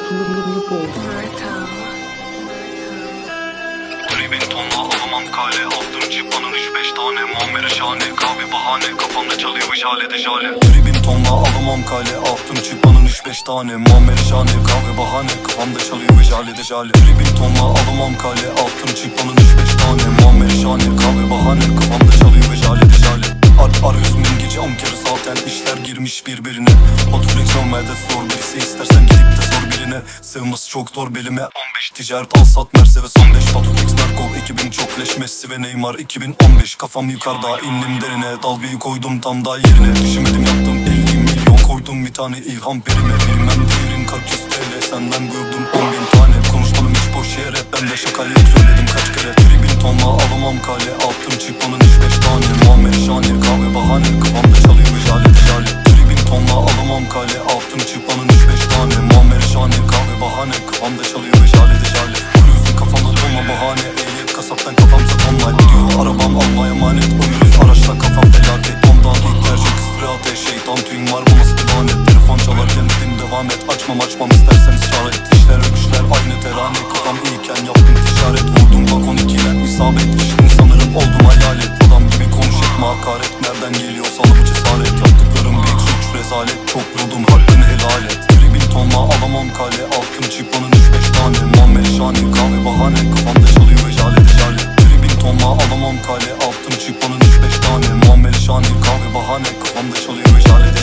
Tribin tonla alamam kale. Altın çıpanın 3-5 tane. Muammer şahane kahve bahane. Kafamda çalıyor jale de jale. Tribin tonla alamam kale. Altın çıpanın 3-5 tane. Muammer şahane kahve bahane. Kafamda çalıyor jale de jale. Tribin tonla alamam kale. Altın çıpanın 3-5 tane. Muammer şahane kahve bahane. Kafamda çalıyor jale de jale. Arıyorsun bin gece 10 kere zaten işler girmiş birbirine. Oturacağım çalmaya zor birisi, istersen gidip de sor birine. Sığması çok zor belime. 15 ticaret al sat Mercedes 15. Patuflex Narko 2000 çok leş Messi ve Neymar 2015. Kafam yukarıda indim derine. Dalgayı koydum tam da yerine. Düşünmedim yaptım 50 milyon koydum bir tane ilham perime. Bilmem değerin kaç yüz TL senden gördüm 10.000 tane. Konuşmadım hiç boş yere, ben de şakayı söyledim kaç kere. Tribin tonla alamam kale. Altın çıkmanın 3-5 tane. Muammer şahane kahve bahane. Kafamda çalıyor jale de jale. Tribin tonla alamam kale. Altın çıkmanın 3-5 tane. Muammer şahane kahve bahane. Kafamda çalıyor jale de jale. Kuruyorsun kafamda dolma bahane. Ehliyet kasaptan kafamsa tonla gidiyor. Arabam Allah'a emanet. Uyuyoruz araçta kafa felaket. Ondan ihtiyacı kısrate. Şeytan tüyün var bu nasıl bir lanet. Telefon çalarken dedim devam et. Açmam isterseniz çare et. İşler öpüşler aynı terane. Kafam iyiyken yaptım ticaret. Vurdum bak 12 ile isabet. İşin sanırım oldum hayalet. Adam gibi konuş etme hakaret. Nereden geliyor sana bu cesaret. Yaptıklarım büyük suç rezalet. Çok buldum hakkını helal et. Tribin tonla alamam kale. Altın çıkmanın 3-5 tane. Muammer şahane kahve bahane. Kafamda çalıyor ve jale de jale. Tribin tonla alamam kale. Altın çıkmanın 3-5 tane. Muammer şahane kahve bahane. Kafamda çalıyor ve jale de